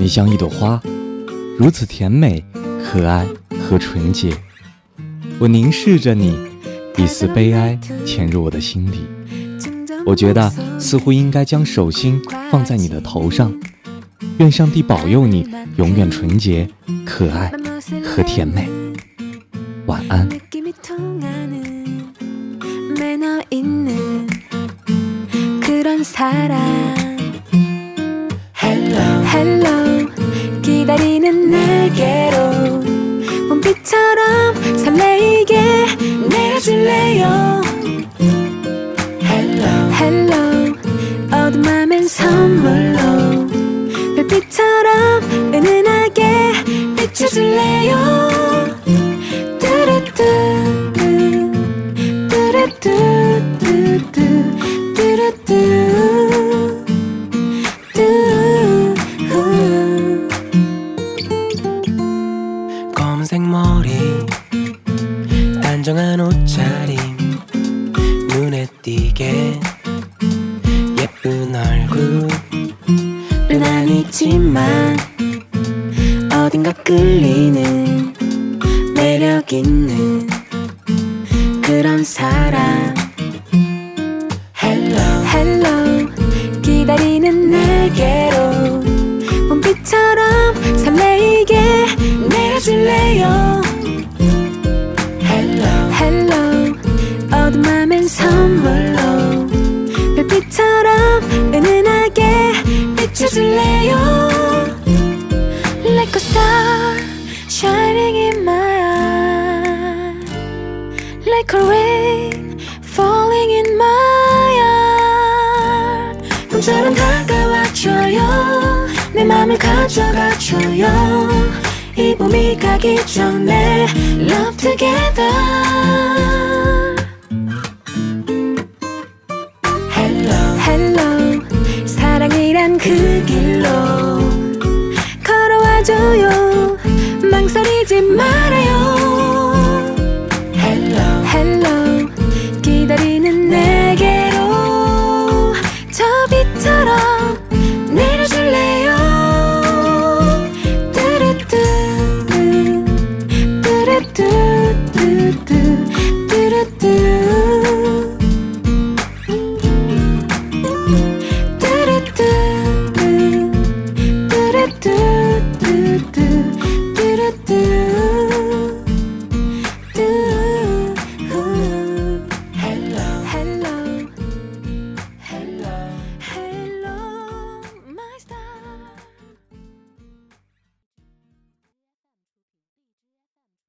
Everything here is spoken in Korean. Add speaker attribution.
Speaker 1: 你像一朵花，如此甜美、可爱和纯洁。我凝视着你，一丝悲哀潜入我的心底。我觉得似乎应该将手心放在你的头上，愿上帝保佑你永远纯洁、可爱和甜美。晚安。
Speaker 2: Hello 기다리는 내게로 봄비처럼 설레이게 내려줄래요. Hello 어두운 맘엔 선물로 별빛처럼 은은하게 비춰줄래요. 뚜루뚜 뚜루뚜 뚜루뚜
Speaker 3: 검은색 머리 단정한 옷차림 눈에 띄게 예쁜 얼굴은 아니지만 어딘가 끌리는 매력 있는 그런 사람. Hello 기다리는 내게로 봄비처럼 설레이게 내려줄래요. Hello 어두운 맘엔 선물로 별빛처럼 은은하게 비춰줄래요. Like a star shining in my eye, like a rain falling in my heart. 꿈처럼 다가와줘요. 내 맘을 가져가줘요. 이 봄이 가기 전에 Love together. Hello 사랑이란 그 길로